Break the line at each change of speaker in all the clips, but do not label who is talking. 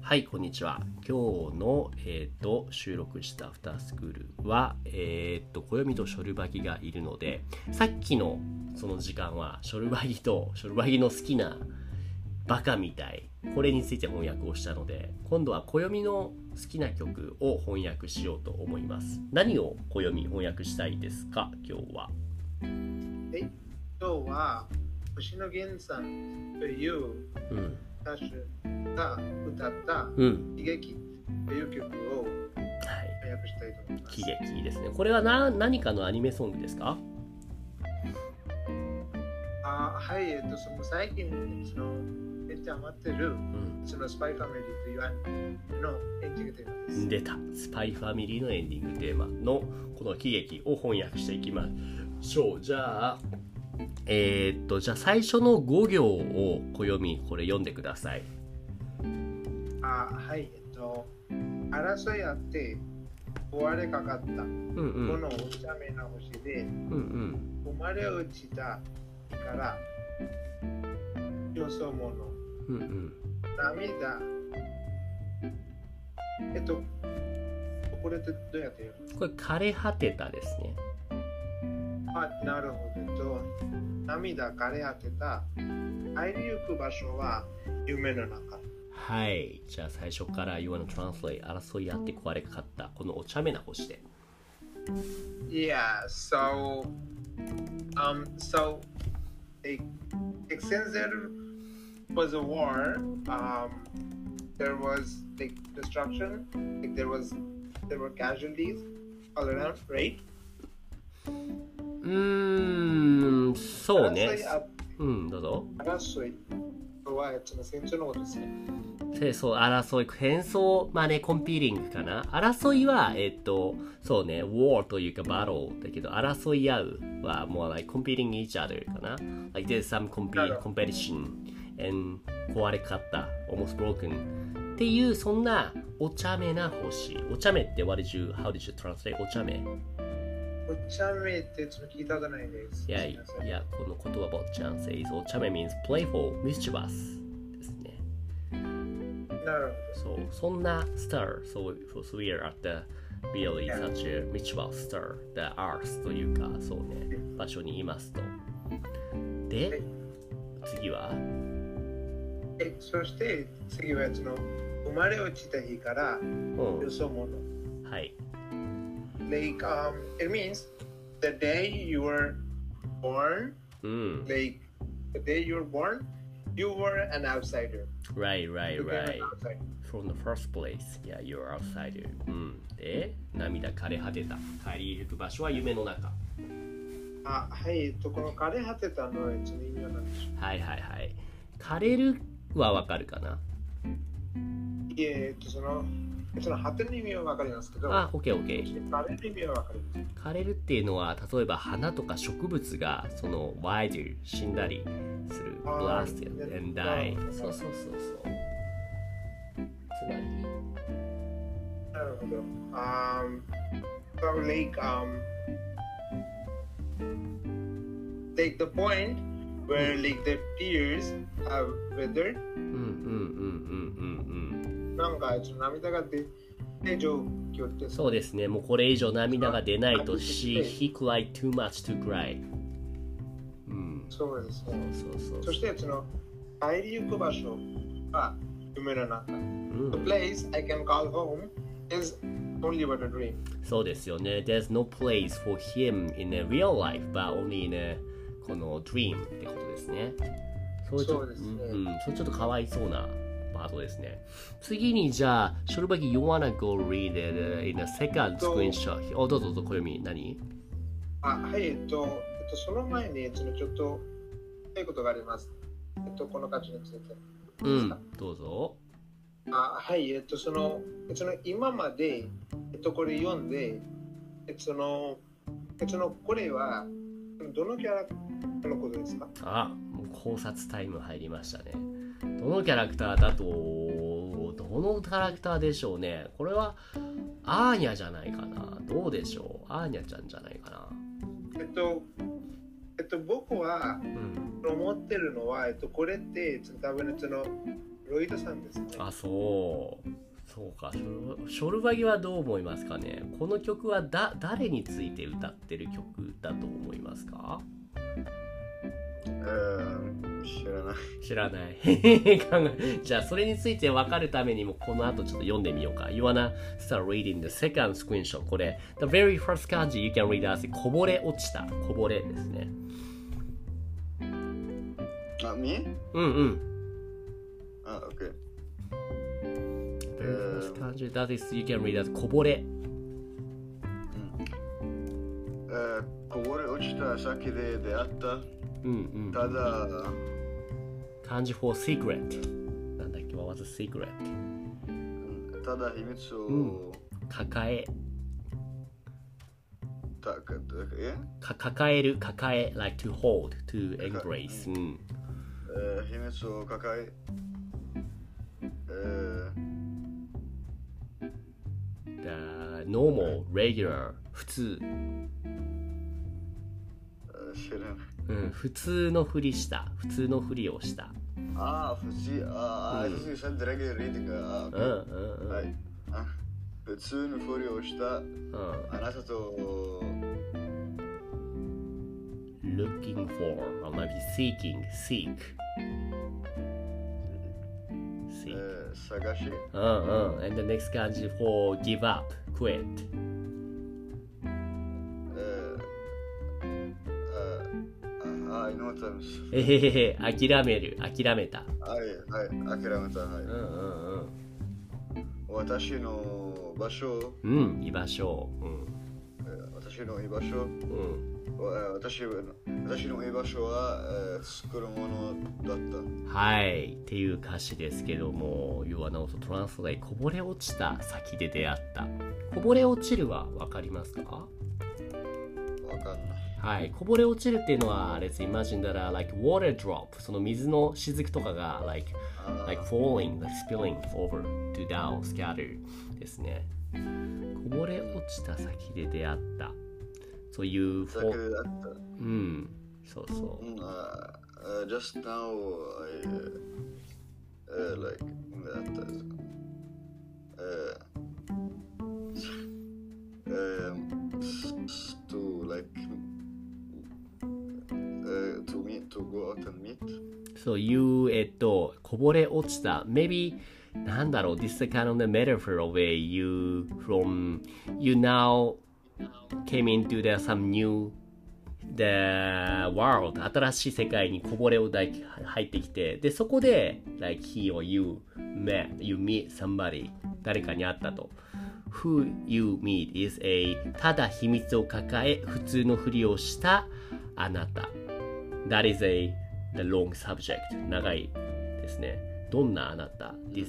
はい、こんにちは。今日の、収録したアフタースクールは、暦とショルバギがいるので、さっきのその時間はショルバギとショルバギの好きなバカみたい、これについて翻訳をしたので、今度は暦の好きな曲を翻訳しようと思います。何を暦翻訳したいですか、今日は。
今日は星野源さんという歌手が歌った喜劇という曲を翻訳したいと思います。
喜劇ですね。これは何かのアニメソングですか？
はい、その最近めっちゃハマってる、そのスパイファミリーというアニメのエンディングテーマです。
出た。スパイファミリーのエンディングテーマのこの喜劇を翻訳していきましょう。じゃあ最初の5行を暦これ読んでください。
はい、争いあって壊れかかった、このお茶目な星で、生まれ落ちたからよそ者、涙、これってどうやって言うの？
これ枯れ果てたですね。
なるほど。涙枯れ果てた入りゆく場所は夢の中。
はい。じゃあ最初から You wanna translate 争いあって壊れかかったこのお茶目な星で。
Yeah, so since there was a war, there was destruction, there were casualties all around, right?
そうね。どうぞ。
争いは戦争のことですね。
そう、争い、戦争、まあね、コンピーティングかな。争いは、そうね、war というか battle だけど、争い合うはもう、like, competing each other かな。Like, there's some competition and 壊れかった、almost broken っていう、そんなお茶目な星。お茶目って、how did you translate お茶目？
お茶目って聞いたことないです。
いや、この言葉坊ちゃん says お茶目 means playful, mischievous ですね。
なる
ほど。そんな star, so we are at the really such a mischievous star, the earth というか、そうね、場所にいますと。で、次は
そして次は生まれ落ちた日からよそ者。
はい。
Like, it means the day you were born, like the day you were born, you were an outsider.
Right. From the first place, yeah, you're outsider. で、涙枯れ果てた。帰りゆく場所は夢の中。
はい、この枯れ果てたのは意味は何でしょう？
はい。枯れるはわかるかな？
その果ての意味は分かりますけど、
OK。
枯れる意味は分かります。
枯れるっていうのは、例えば花とか植物がその wild 死んだりする blast and die。そう。つまり
なるほど。So like the point where like the tears have withered。なんか涙が出て状況って
そうですね。もうこれ以上涙が出ないと he cried too much to cry。
そうですね。
そう。
そして帰りゆく場所は夢の中。The place I can call home is only but a dream。
そうですよね。There's no place for him in a real life, but only in a この dream ってことですね。
そうですね。
それちょっとかわいそうなパートですね。次にじゃあ、ショルバギ you wanna go read it in a second screenshot。どうぞ、暦何？
はい、その前にちょっと言いことがあります。この歌詞について。
どうぞ。
はい、今まで、これ読んで、これはどのキャラクターのことですか？
もう考察タイム入りましたね。どのキャラクターだと、どのキャラクターでしょうね。これはアーニャじゃないかな。どうでしょう。アーニャちゃんじゃないかな。
僕は、思ってるのは、これって多分ロイドさんですね。
あ、そうか。ショルバギはどう思いますかね。この曲は誰について歌ってる曲だと思いますか？知らない。じゃあそれについて分かるためにもこの後ちょっと読んでみようか。You wanna start reading the second screenshot. これ The very first 漢字 you can read as こぼれ落ちた。こぼれですね。
OK。
very first 漢字 that is you can read as こぼれ。
こぼれ落ちた先で出会った。ただ
漢字 for secret なんだっけ、what was a secret、
ただ秘密を、
抱えlike to hold to embrace、秘
密を抱え、
the normal regular 普通、
知らない。
普通のふりした、普通のふりをした。
普通のふりをした、あなたと
looking for or maybe seek
探し、
and the next 漢字 for give up quit、諦める、諦めた。
諦めた。私の場所、
居場所、
私の居場所、私の居場所は、作るものだった。
はい、っていう歌詞ですけども、You are not translate こぼれ落ちた先で出会った。こぼれ落ちるは分かりますか？
わかんない。
はい、こぼれ落ちるっていうのは Let's imagine that like water drop その水の雫とかが like falling, like spilling over to down, scatter ですね。こぼれ落ちた先で出会ったそういう
先で出会った。
そうそう、
just now like 出会った。to like to go out and meet.
So you こぼれ落ちた maybe なんだろう this is kind of the metaphor of you now came into some new the world 新しい世界にこぼれを入ってきてでそこで like he or you meet somebody 誰かに会ったとWho you meet is a ただ秘密を抱え普通のふりをしたあなた That is the long subject 長いですねどんなあなた This、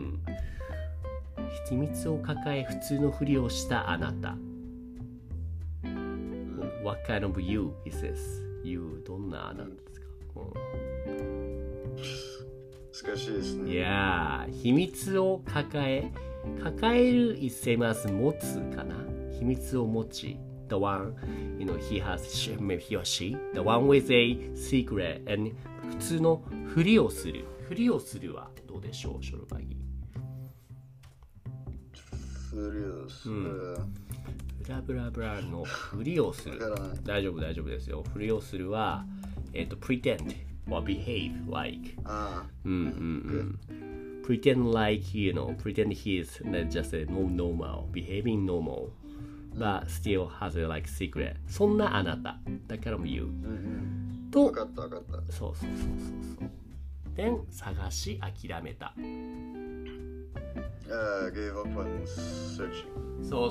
秘密を抱え普通のふりをしたあなた、What kind of you is this? You どんなあなたですか、
難しいですね。
いや秘密を抱える is same as 持つかな秘密を持ち The one, he has, maybe he or she The one with a secret and 普通のふりをするはどうでしょうショルバギ
ふりをする、
ブラブラブラのふりをする大丈夫ですよふりをするはpretend or behave like pretend like pretend he is just a normal behaving normal but still has a like secret そんなあなただからも言う、と
分かった
そうで探し諦めた、
gave up on searching
そう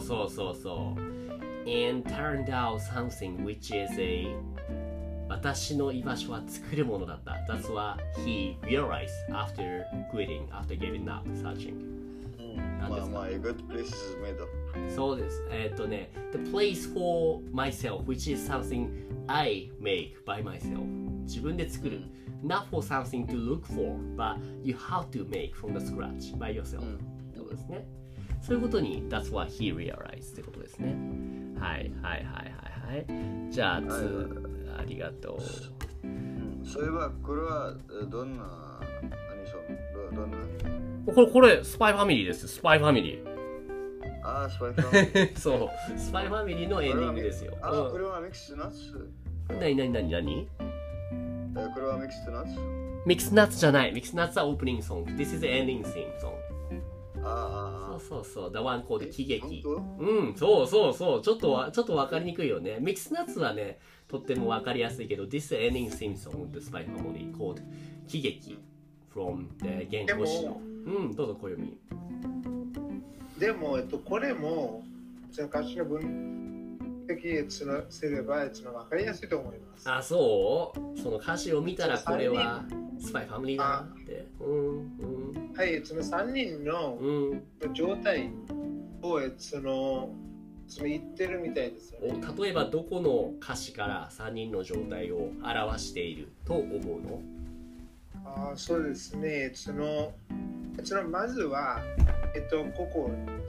and turned out something which is a私の居場所は作るものだった。That's what he realized after quitting, after giving up searching.
My good place is made up.
そうです。The place for myself, which is something I make by myself. 自分で作る。Not for something to look for, but you have to make from the scratch by yourself. そうですね。そういうことに That's what he realized ってことですね。はい。じゃあ、ありがとう。
そういえばこれはどんな
どんな
これ、スパイファミリーです。スパイファミリー。
ああ、スパイファミリー。
そう、スパイファミリーのエンディングですよ。
これはミックスナッツ。
なに
これはミックスナッツ
ミックスナッツじゃない。ミックスナッツはオープニングソング。This is the ending theme song. そう。The one called 喜劇。そう。ちょっとわかりにくいよね。ミックスナッツはね、とってもわかりやすいけど、This is the ending theme song of the Spy Family called 喜劇 from the 原稿詞の。どうぞ、小読み。
でも、これも、歌詞の分析すれば、わかりやすいと思います。
あ、そうその歌詞を見たら、これはスパイファミリーだなって。
はい、その3人の状態を言ってるみたいですよね。
例えば、どこの歌詞から3人の状態を表していると思うの？
そうですね。まずは、ここ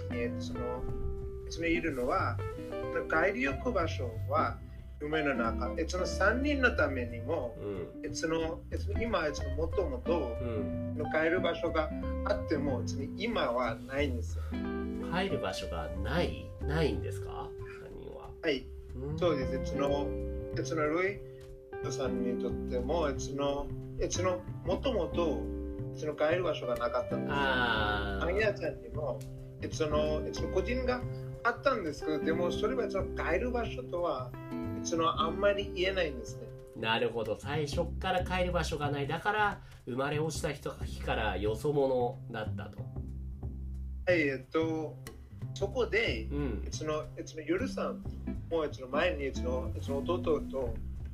にいるのは、帰り行く場所は夢の中。3人のためにも、今、もともと帰る場所があっても、今はないんですよ。
帰る場所がないんですか？3人は。
はい、そうです。ルイさんにとっても、もともと帰る場所がなかったんですよ。アニヤちゃんにも、個人があったんですけど、でもそれは帰る場所とはあんまり言えないんですね。
なるほど。最初から帰る場所がない。だから生まれ落ちた日からよそ者だったと。
はい、そこで、ゆるさんも前に弟と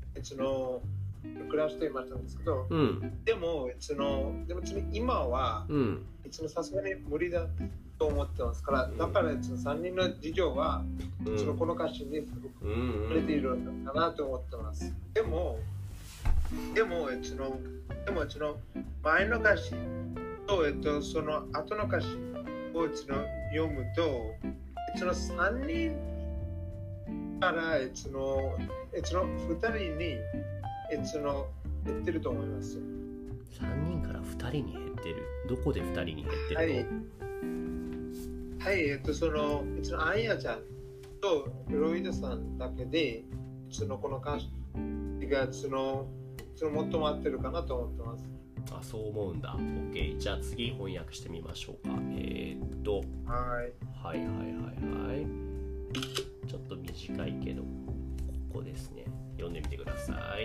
暮らしていましたんですけど、でも今はさすがに無理だと思ってますから、だから3人の事情はこの歌詞に触れているのかなと思ってます。でも前の歌詞とその後の歌詞を読むと3人から2人に減ってると思います。
3人から2人に減ってる。どこで2人に減ってるの？
はい、アンヤちゃんとロイドさんだけでこの歌詞が最も合ってるかなと思ってます。
そう思うんだ。OK。じゃあ次翻訳してみましょうか。はい。ちょっと短いけど、ここですね。読んでみてください。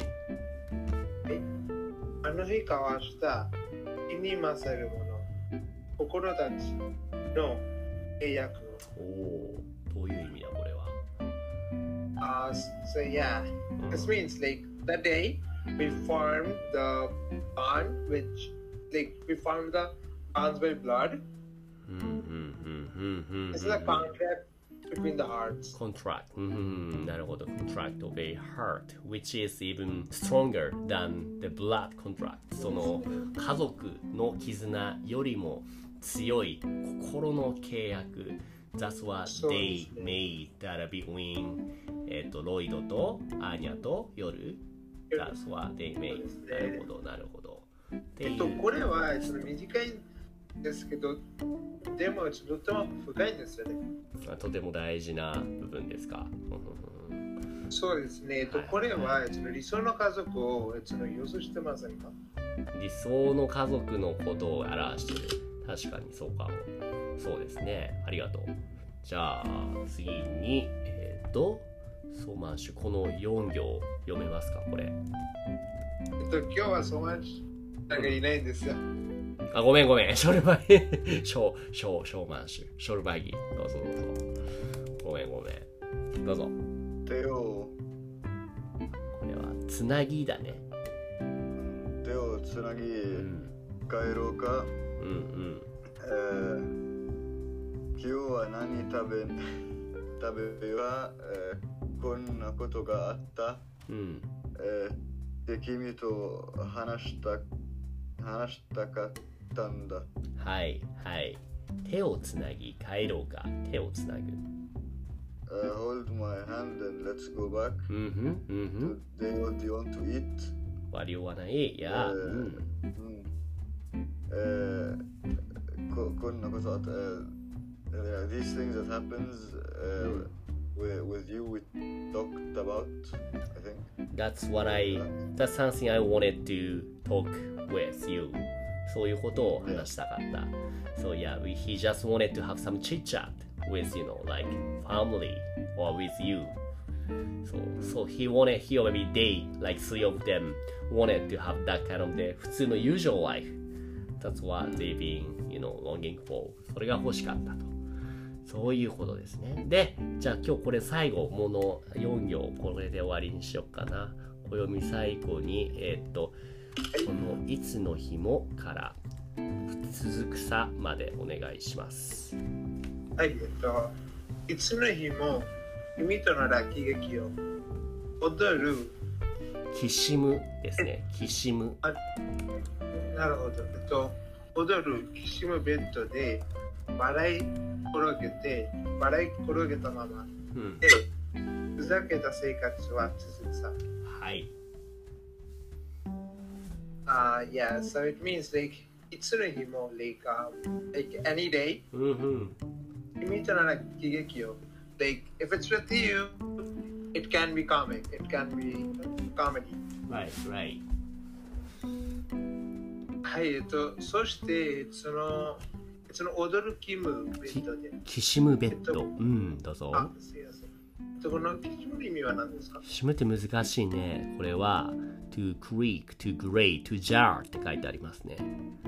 あの日交わした気に勝るもの、心たちの契約。
どういう意味だこれは
？So yeah, this means like that day we formed the bond, which like we formed the bonds by blood. This is a contract between the hearts.
Contract. なるほど。Contract of a heart, which is even stronger than the blood contract. その家族の絆よりも強い心の契約。That's what they made that between ロイドとアーニャと夜。That's what they made. なるほど。
これは短いんですけど、でもとても深いんですよね。
とても大事な部分ですか。
そうですね。これは理想の家族を予想してませんか？
理想の家族のことを表している。確かにそうかも。そうですね。ありがとう。じゃあ次にソーマンシュ、この4行読めますかこれ？
今日はソーマンシュなんかいないんですよ。
ごめん。ショルバギショーマンシュ。ショルバギ。どうぞ。ごめん。どうぞ。
手を。
これはつなぎだね。
手をつなぎ、帰ろうか。今日は何食べは、こんなことがあった。で、君と話したかったんだ。はい。手をつなぎ帰ろうか。手をつなぐ。 Hold my hand and let's go back. Today what do you want to eat?
What do you wanna eat? Yeah.
thought these things that happens with you, we talked about, I think.
That's something I wanted to talk with you. そういうことを話したかった。So yeah, he just wanted to have some chit chat with, like family or with you. So he or maybe they, like three of them, wanted to have that kind of 普通のusual life. That's what they've been, longing for. それが欲しかったと。そういうことですね。で、じゃあ今日これ最後、もの4行、これで終わりにしようかな。暦最後に、このいつの日もから続くさまでお願いします。
はい、いつの日も君との喜劇を踊る。
きしむですね。きしむ。
なるほど。踊るきしむベッドで笑い転げたままで、ふざけた生活は続くさ。
はい。
Yeah, so it means like いつの日もlike any day. 君との喜劇を like if it's with you, it can be comic, it can be comedy.
Right.
はい、そしてその踊るキムベッドで。
きしむベッド。どうぞ。
すいません。このきしむの意味は何ですか？
きしむって難しいね。これは to creak, to grate, to jar って書いてありますね。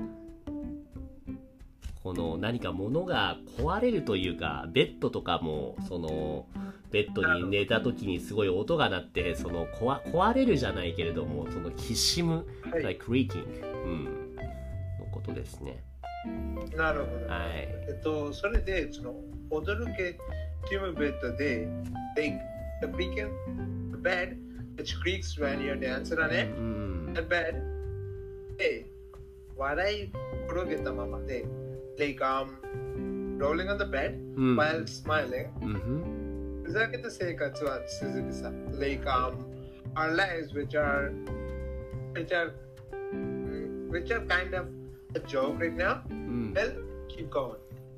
この何か物が壊れるというか、ベッドとかもそのベッドに寝た時にすごい音が鳴って、その壊れるじゃないけれども、そのきしむ、like creaking、のことですね。
なるほど。はい。それでその踊るキムベッドで like the creaking the bed which creaks when you're dancing on it the bed で笑い転げたままでlike rolling on the bed while smiling ふざけた生活は続くさ like our lives which are kind of a joke right now well keep going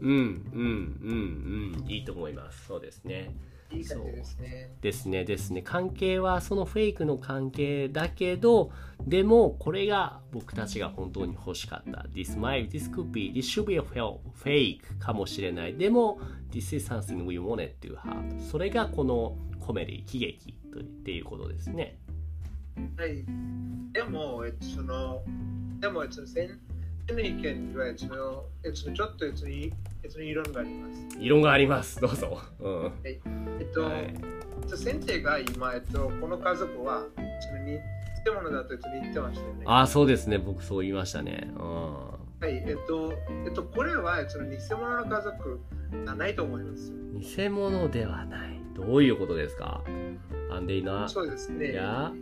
いいと思います。そうですね。
いい感じですね。
ですね。関係はそのフェイクの関係だけど、でもこれが僕たちが本当に欲しかった。This should be a fake かもしれない。でも This is something we wanted to have。それがこのコメディ、喜劇っていうことですね。
はい。でもの意見はちょっと異論があります。
異論があります。どうぞ。
先生が今この家族は偽物だと言ってましたよね。
ああ、そうですね。僕そう言いましたね。
はい。これは偽物の家族はないと思います。
偽物ではない。どういうことですか？
そうですね。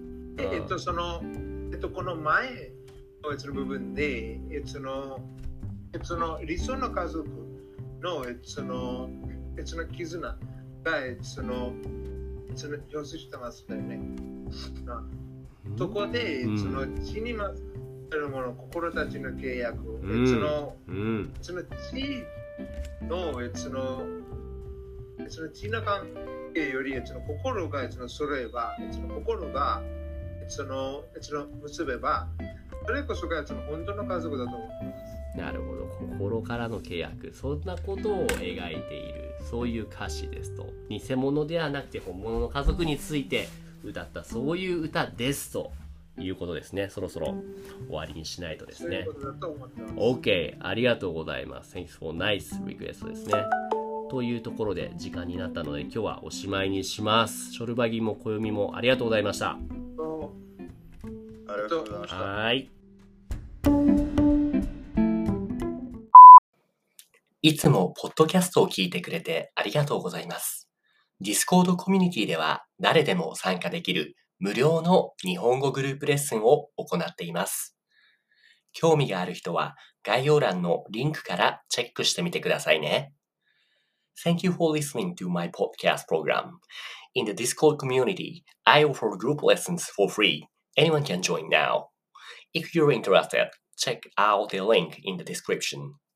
この前の部分で、理想の家族の絆が表出してますよね。そこで血にまつわるもの、心たちの契約、血の関係より心が揃えば、心が結べば、それこそが本当の家族だと思います。
なるほど。心からの契約、そんなことを描いている、そういう歌詞ですと。偽物ではなくて本物の家族について歌った、そういう歌ですということですね。そろそろ終わりにしないとですね。
そういうことだと思ってます。
OK、ありがとうございます。Thanks for nice request ですね。というところで時間になったので今日はおしまいにします。ショルバギも暦もありがとうございました。
ありがとうございました。
はい。いつもポッドキャストを聞いてくれてありがとうございます。Discord コミュニティでは誰でも参加できる無料の日本語グループレッスンを行っています。興味がある人は概要欄のリンクからチェックしてみてくださいね。Thank you for listening to my podcast program. In the Discord community, I offer group lessons for free. Anyone can join now. If you're interested, check out the link in the description.